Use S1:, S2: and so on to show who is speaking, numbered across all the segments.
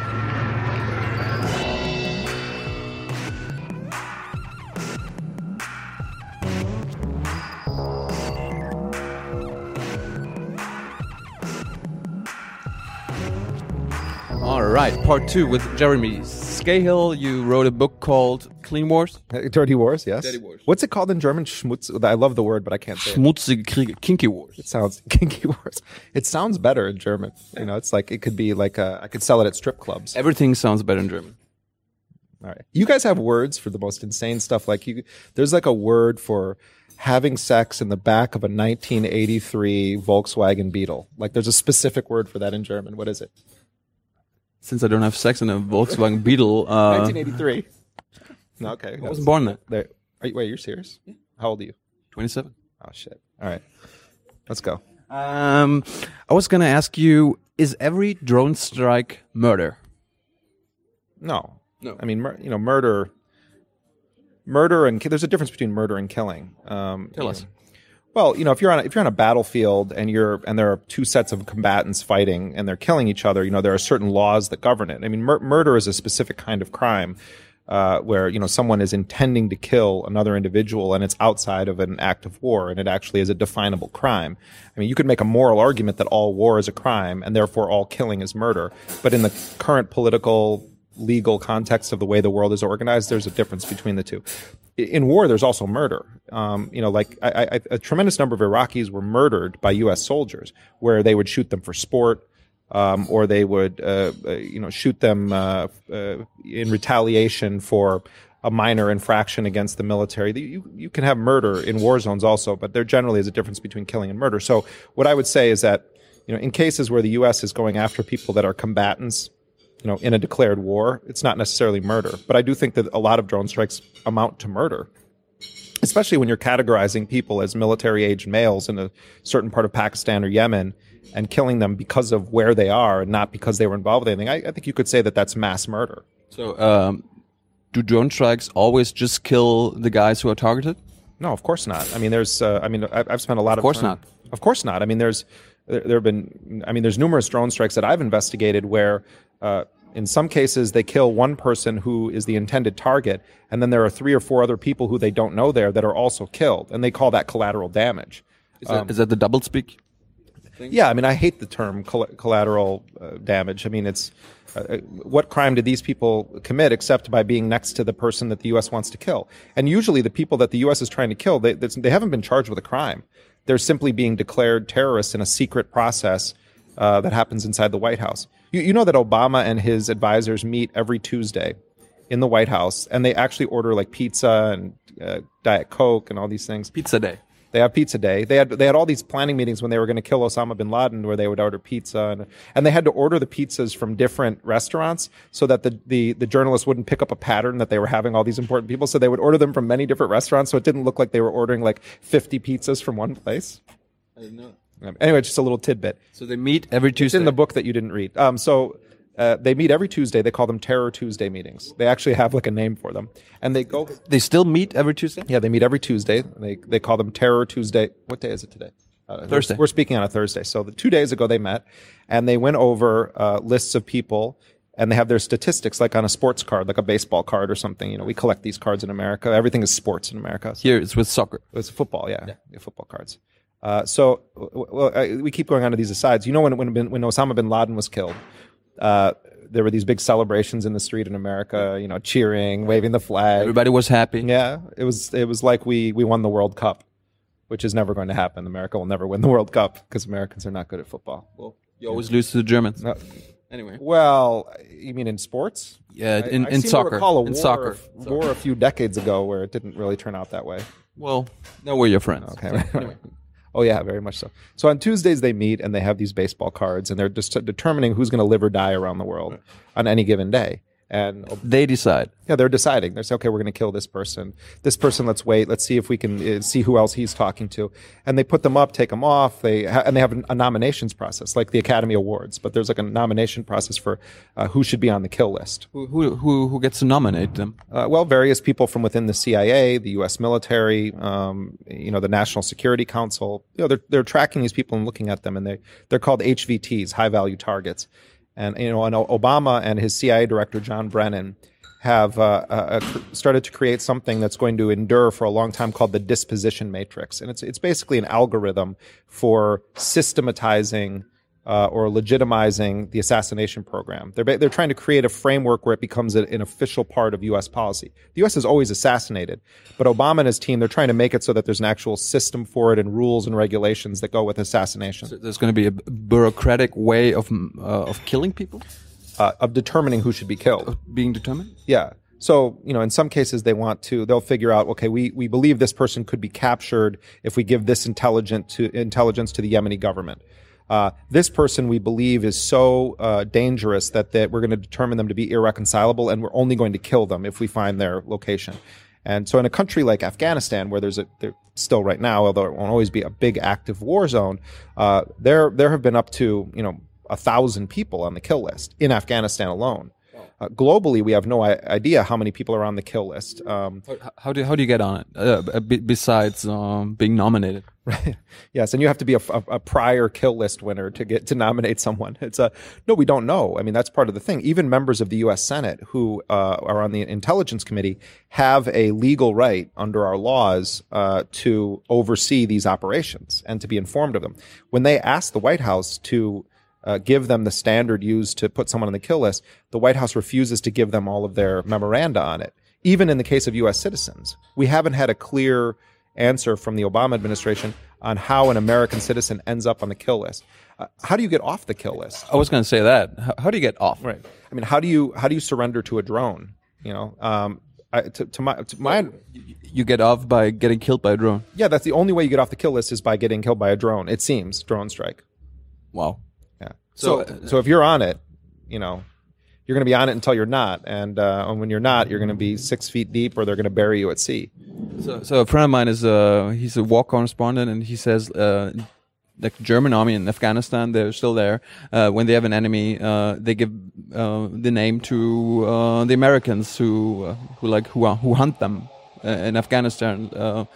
S1: All right, part 2 with Jeremy Scahill. You wrote a book called Clean Wars?
S2: Dirty Wars, yes.
S1: Dirty Wars.
S2: What's it called in German? Schmutz. I love the word, but I can't say it.
S1: Schmutzige Kriege, Kinky Wars.
S2: It sounds kinky wars. It sounds better in German. You know, it's like it could be like I could sell it at strip clubs.
S1: Everything sounds better in German.
S2: All right. You guys have words for the most insane stuff. Like there's like a word for having sex in the back of a 1983 Volkswagen Beetle. Like there's a specific word for that in German. What is it?
S1: Since I don't have sex in a Volkswagen Beetle,
S2: 1983. No, okay.
S1: I wasn't born then.
S2: Wait, you're serious? Yeah. How old are you?
S1: 27.
S2: Oh shit. All right. Let's go.
S1: I was gonna ask you: is every drone strike murder?
S2: No.
S1: No.
S2: I mean, murder and there's a difference between murder and killing.
S1: Tell us.
S2: Well, if you're on a battlefield and there are two sets of combatants fighting and they're killing each other, there are certain laws that govern it. I mean, murder is a specific kind of crime where someone is intending to kill another individual and it's outside of an act of war and it actually is a definable crime. I mean, you could make a moral argument that all war is a crime and therefore all killing is murder, but in the current political legal context of the way the world is organized, there's a difference between the two. In war, there's also murder. A tremendous number of Iraqis were murdered by U.S. soldiers, where they would shoot them for sport, or they would, shoot them in retaliation for a minor infraction against the military. You can have murder in war zones also, but there generally is a difference between killing and murder. So what I would say is that, in cases where the U.S. is going after people that are combatants, in a declared war, it's not necessarily murder. But I do think that a lot of drone strikes amount to murder, especially when you're categorizing people as military-aged males in a certain part of Pakistan or Yemen and killing them because of where they are and not because they were involved with anything. I think you could say that that's mass murder.
S1: So do drone strikes always just kill the guys who are targeted?
S2: No, of course not. I mean, I've spent a lot of time.
S1: Of course not.
S2: Of course not. I mean, there's numerous drone strikes that I've investigated where in some cases they kill one person who is the intended target, and then there are 3 or 4 other people who they don't know there that are also killed, and they call that collateral damage.
S1: Is that the doublespeak thing?
S2: Yeah, I mean, I hate the term collateral damage. I mean, it's what crime did these people commit except by being next to the person that the U.S. wants to kill? And usually the people that the U.S. is trying to kill, they haven't been charged with a crime. They're simply being declared terrorists in a secret process that happens inside the White House. You know that Obama and his advisors meet every Tuesday in the White House, and they actually order like pizza and Diet Coke and all these things.
S1: Pizza day.
S2: They have pizza day. They had all these planning meetings when they were going to kill Osama bin Laden, where they would order pizza, and they had to order the pizzas from different restaurants so that the journalists wouldn't pick up a pattern that they were having all these important people. So they would order them from many different restaurants, so it didn't look like they were ordering like 50 pizzas from one place.
S1: I didn't know.
S2: Anyway, just a little tidbit.
S1: So they meet every Tuesday.
S2: It's in the book that you didn't read. They meet every Tuesday. They call them Terror Tuesday meetings. They actually have like a name for them. And they go.
S1: They still meet every Tuesday?
S2: Yeah, they meet every Tuesday. They call them Terror Tuesday. What day is it today?
S1: Thursday.
S2: We're speaking on a Thursday. So 2 days ago they met, and they went over lists of people, and they have their statistics like on a sports card, like a baseball card or something. We collect these cards in America. Everything is sports in America.
S1: Here it's with soccer.
S2: It's football, yeah, football cards. We keep going on to these asides. When Osama bin Laden was killed, there were these big celebrations in the street in America, cheering, waving the flag.
S1: Everybody was happy.
S2: Yeah, it was like we won the World Cup, which is never going to happen. America will never win the World Cup because Americans are not good at football.
S1: Well, you always lose to the Germans. Anyway.
S2: Well, you mean in sports?
S1: Yeah, in
S2: I
S1: soccer.
S2: I recall
S1: in soccer.
S2: war a few decades ago where it didn't really turn out that way.
S1: Well, now we're your friends.
S2: Okay. Anyway. Oh, yeah, very much so. So on Tuesdays, they meet and they have these baseball cards, and they're just determining who's going to live or die around the world on any given day. And
S1: they decide.
S2: Yeah, they're deciding. They say, okay, we're going to kill this person. This person, let's wait. Let's see if we can see who else he's talking to. And they put them up, take them off. They have a nominations process, like the Academy Awards. But there's like a nomination process for who should be on the kill list.
S1: Who gets to nominate them?
S2: Well, various people from within the CIA, the U.S. military, the National Security Council. They're tracking these people and looking at them, and they're called HVTs, high value targets. And Obama and his CIA director John Brennan have started to create something that's going to endure for a long time called the disposition matrix, and it's basically an algorithm for systematizing or legitimizing the assassination program. They're trying to create a framework where it becomes an official part of U.S. policy. The U.S. has always assassinated, but Obama and his team, they're trying to make it so that there's an actual system for it and rules and regulations that go with assassination.
S1: So there's going to be a bureaucratic way of killing people?
S2: Of determining who should be killed.
S1: Of being determined?
S2: Yeah. So, in some cases they'll figure out, okay, we believe this person could be captured if we give this intelligence to the Yemeni government. This person we believe is so dangerous that we're going to determine them to be irreconcilable, and we're only going to kill them if we find their location. And so in a country like Afghanistan, where there's still right now, although it won't always be a big active war zone, there have been up to 1,000 people on the kill list in Afghanistan alone. Globally, we have no idea how many people are on the kill list.
S1: How do you get on it besides being nominated?
S2: Right. Yes, and you have to be a prior kill list winner to nominate someone. No, we don't know. I mean, that's part of the thing. Even members of the U.S. Senate who are on the Intelligence Committee have a legal right under our laws to oversee these operations and to be informed of them. When they asked the White House to give them the standard used to put someone on the kill list, the White House refuses to give them all of their memoranda on it. Even in the case of U.S. citizens, we haven't had a clear answer from the Obama administration on how an American citizen ends up on the kill list. How do you get off the kill list?
S1: I was going to say that. How do you get off?
S2: Right. I mean, how do you surrender to a drone?
S1: You get off by getting killed by a drone.
S2: Yeah, that's the only way you get off the kill list is by getting killed by a drone. It seems drone strike.
S1: Wow.
S2: Yeah. So if you're on it, you're going to be on it until you're not, and when you're not, you're going to be 6 feet deep, or they're going to bury you at sea.
S1: So a friend of mine he's a war correspondent, and he says the German army in Afghanistan, they're still there. When they have an enemy, they give the name to the Americans who hunt them in Afghanistan.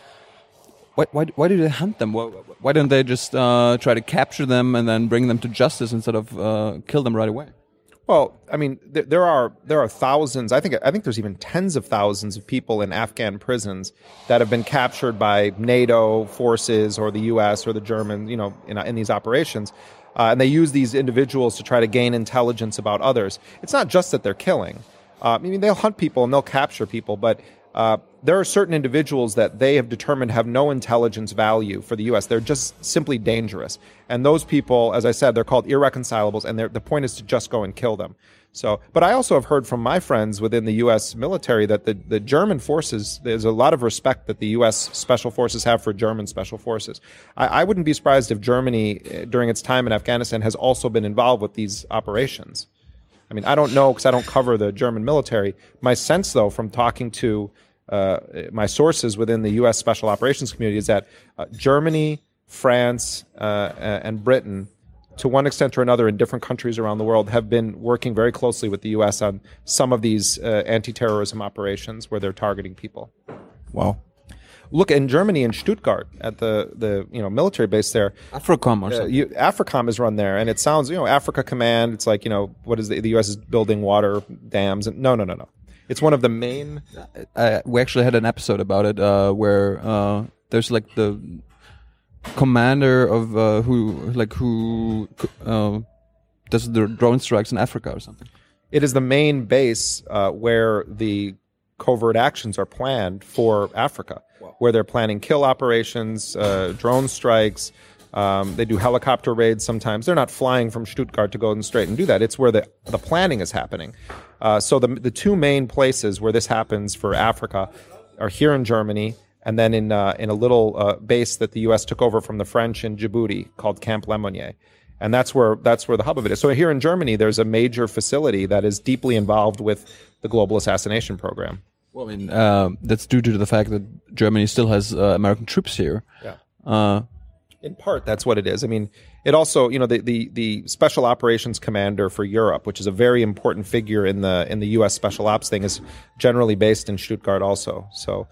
S1: Why do they hunt them? Why don't they just try to capture them and then bring them to justice instead of kill them right away?
S2: Well, I mean, there are thousands. I think there's even tens of thousands of people in Afghan prisons that have been captured by NATO forces or the U.S. or the German, in these operations, and they use these individuals to try to gain intelligence about others. It's not just that they're killing. I mean, they'll hunt people and they'll capture people, but there are certain individuals that they have determined have no intelligence value for the U.S. They're just simply dangerous. And those people, as I said, they're called irreconcilables, and the point is to just go and kill them. So, but I also have heard from my friends within the U.S. military that the German forces, there's a lot of respect that the U.S. special forces have for German special forces. I wouldn't be surprised if Germany, during its time in Afghanistan, has also been involved with these operations. I mean, I don't know because I don't cover the German military. My sense, though, from talking to my sources within the U.S. Special Operations community is that Germany, France, and Britain, to one extent or another in different countries around the world, have been working very closely with the U.S. on some of these anti-terrorism operations where they're targeting people.
S1: Wow.
S2: Look, in Germany, in Stuttgart, at the military base there,
S1: AFRICOM or something.
S2: AFRICOM is run there, and it sounds Africa Command. It's like what is the U.S. is building water dams? And no. It's one of the main.
S1: We actually had an episode about it where there's like the commander of who does the drone strikes in Africa or something.
S2: It is the main base where the covert actions are planned for Africa. Wow. Where they're planning kill operations, drone strikes. They do helicopter raids sometimes. They're not flying from Stuttgart to go and straight and do that. It's where the planning is happening. So the two main places where this happens for Africa are here in Germany, and then in a little base that the U.S. took over from the French in Djibouti called Camp Lemonnier. And that's where the hub of it is. So here in Germany, there's a major facility that is deeply involved with the global assassination program.
S1: Well, I mean, that's due to the fact that Germany still has American troops here.
S2: Yeah. In part, that's what it is. I mean, it also, the Special Operations Commander for Europe, which is a very important figure in the U.S. Special Ops thing, is generally based in Stuttgart also. So,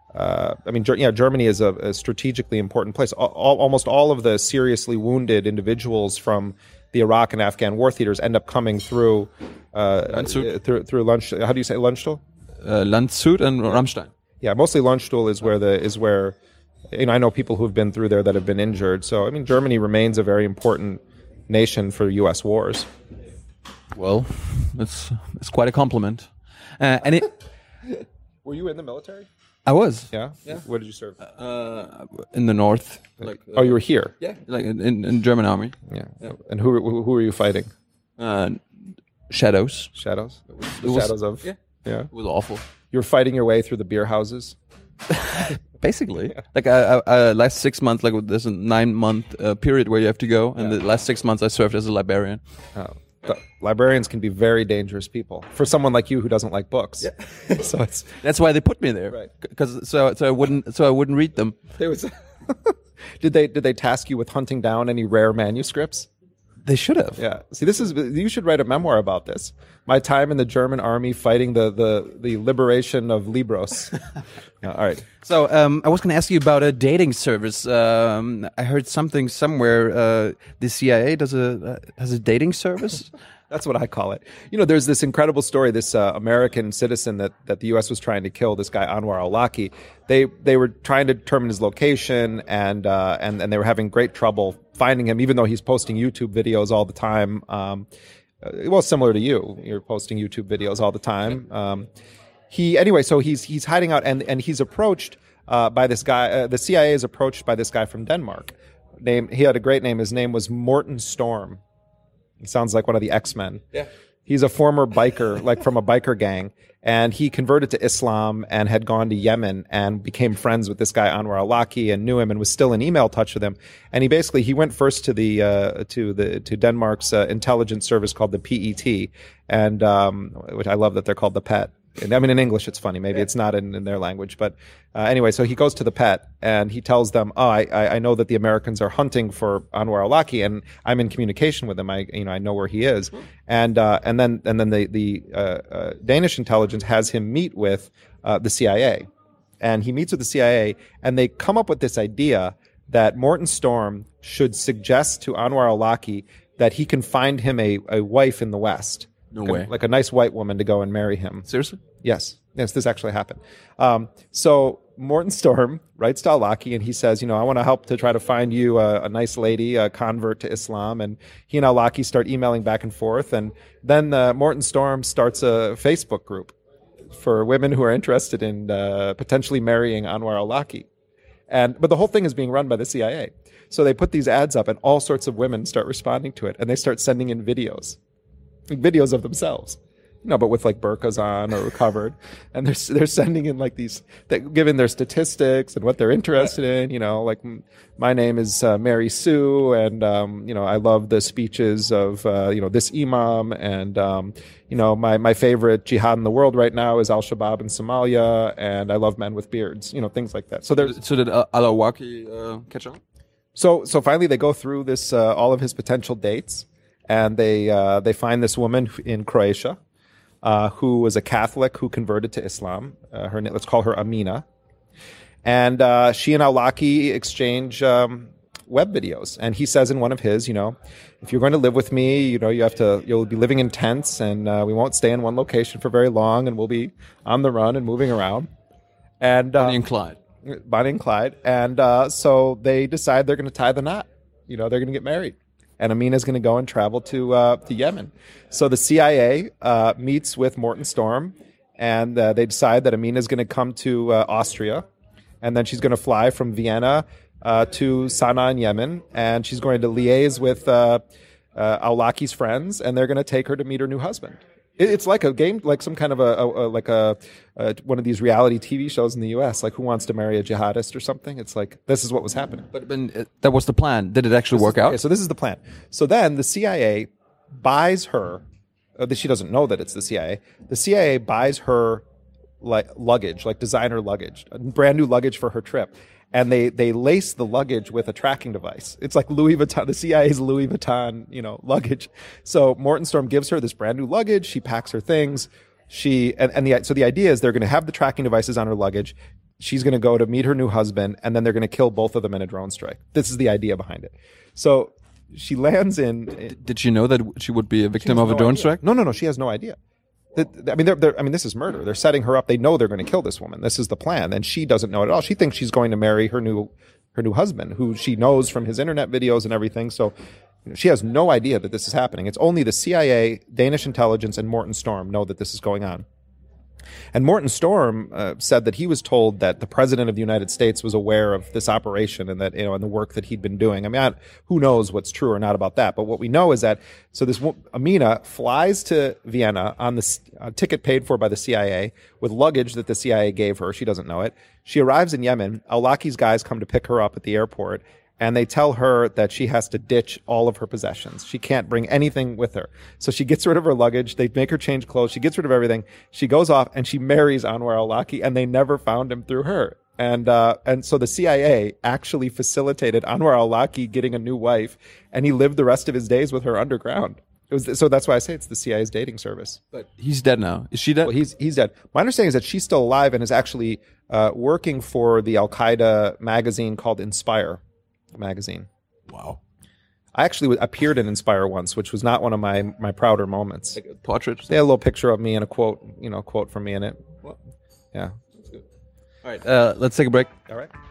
S2: Germany is a strategically important place. Almost all of the seriously wounded individuals from the Iraq and Afghan war theaters end up coming through through Lunch. How do you say Landstuhl?
S1: Landshut and Ramstein.
S2: Yeah, mostly Landstuhl is where I know people who've been through there that have been injured. So I mean, Germany remains a very important nation for U.S. wars.
S1: Well, it's quite a compliment. And it.
S2: Were you in the military?
S1: I was.
S2: Yeah. Where did you serve?
S1: In the north.
S2: Oh, you were here.
S1: Yeah. Like in German army.
S2: Yeah. And who were you fighting?
S1: Shadows.
S2: Shadows.
S1: It was,
S2: Shadows of.
S1: Yeah.
S2: Yeah.
S1: It was awful.
S2: You were fighting your way through the beer houses.
S1: Basically, like I last 6 months, like there's a 9-month period where you have to go, and the last 6 months I served as a librarian.
S2: The librarians can be very dangerous people for someone like you who doesn't like books. Yeah. So
S1: that's why they put me there,
S2: right?
S1: Because so I wouldn't read them.
S2: Did they task you with hunting down any rare manuscripts?
S1: They should have.
S2: Yeah. See, you should write a memoir about this. My time in the German army fighting the liberation of Libros. Yeah, all right.
S1: So I was going to ask you about a dating service. I heard something somewhere. The CIA has a dating service.
S2: That's what I call it. There's this incredible story. This American citizen that the U.S. was trying to kill, this guy Anwar al-Awlaki. They were trying to determine his location, and they were having great trouble finding him, even though he's posting YouTube videos all the time. Well, similar to you, you're posting YouTube videos all the time. So he's hiding out, and he's approached by this guy. The CIA is approached by this guy from Denmark. He had a great name. His name was Morten Storm. He sounds like one of the X-Men.
S1: Yeah.
S2: He's a former biker, like from a biker gang, and he converted to Islam and had gone to Yemen and became friends with this guy Anwar al-Awlaki and knew him and was still in email touch with him. And he went first to to Denmark's intelligence service called the PET, and which I love that they're called the PET. I mean, in English, it's funny. Maybe it's not in their language. But anyway, so he goes to the PET and he tells them, I know that the Americans are hunting for Anwar al-Awlaki and I'm in communication with him. I know where he is. And then the Danish intelligence has him meet with the CIA. And he meets with the CIA and they come up with this idea that Morten Storm should suggest to Anwar al-Awlaki that he can find him a wife in the West.
S1: No way.
S2: Like a nice white woman to go and marry him.
S1: Seriously?
S2: Yes, this actually happened. So Morten Storm writes to al-Awlaki and he says, I want to help to try to find you a nice lady, a convert to Islam. And he and al-Awlaki start emailing back and forth. And then Morten Storm starts a Facebook group for women who are interested in potentially marrying Anwar al-Awlaki. But the whole thing is being run by the CIA. So they put these ads up and all sorts of women start responding to it. And they start sending in videos of themselves, but with like burqas on or covered, and they're sending in like these, giving their statistics and what they're interested in. Like my name is Mary Sue, and I love the speeches of this imam, and my favorite jihad in the world right now is Al-Shabaab in Somalia, and I love men with beards, things like that. So
S1: did al-Awlaki catch on?
S2: So finally they go through this all of his potential dates. And they find this woman in Croatia who was a Catholic who converted to Islam. Let's call her Amina. And she and al-Awlaki exchange web videos. And he says in one of his, if you're going to live with me, you'll be living in tents, and we won't stay in one location for very long, and we'll be on the run and moving around. And
S1: Bonnie and Clyde.
S2: Bonnie and Clyde. And so they decide they're going to tie the knot. They're going to get married. And Amina's going to go and travel to Yemen. So the CIA meets with Morten Storm, and they decide that Amina's going to come to Austria, and then she's going to fly from Vienna to Sana'a in Yemen, and she's going to liaise with al-Awlaki's friends, and they're going to take her to meet her new husband. It's like a game, like some kind of one of these reality TV shows in the U.S., like Who Wants to Marry a Jihadist or something. It's like, this is what was happening.
S1: But that was the plan. Did it actually work out?
S2: Okay, so this is the plan. So then the CIA buys her, she doesn't know that it's the CIA. The CIA buys her like luggage, like designer luggage, brand new luggage for her trip. And they lace the luggage with a tracking device. It's like Louis Vuitton, the CIA's Louis Vuitton, luggage. So Morten Storm gives her this brand new luggage. She packs her things. So the idea is they're going to have the tracking devices on her luggage. She's going to go to meet her new husband, and then they're going to kill both of them in a drone strike. This is the idea behind it. So she lands in.
S1: Did she know that she would be a victim
S2: has
S1: of a
S2: no
S1: drone
S2: idea.
S1: strike?
S2: No. She has no idea. I mean, this is murder. They're setting her up. They know they're going to kill this woman. This is the plan, and she doesn't know it at all. She thinks she's going to marry her new husband, who she knows from his internet videos and everything. So she has no idea that this is happening. It's only the CIA, Danish intelligence, and Morton Storm know that this is going on. And Morton Storm said that he was told that the president of the United States was aware of this operation and that, and the work that he'd been doing. I mean, who knows what's true or not about that? But what we know is that, so this Amina flies to Vienna on the ticket paid for by the CIA with luggage that the CIA gave her. She doesn't know it. She arrives in Yemen. Al-Awlaki's guys come to pick her up at the airport. And they tell her that she has to ditch all of her possessions. She can't bring anything with her. So she gets rid of her luggage. They make her change clothes. She gets rid of everything. She goes off and she marries Anwar al-Awlaki, and they never found him through her. And so the CIA actually facilitated Anwar al-Awlaki getting a new wife, and he lived the rest of his days with her underground. So that's why I say it's the CIA's dating service.
S1: But he's dead now. Is she dead?
S2: Well, he's dead. My understanding is that she's still alive and is actually working for the Al-Qaeda magazine called Inspire magazine.
S1: Wow.
S2: I actually appeared in Inspire once, which was not one of my prouder moments.
S1: Like a portrait?
S2: They had a little picture of me and a quote from me in it.
S1: Well,
S2: Yeah.
S1: that's good. All right, let's take a break.
S2: All right.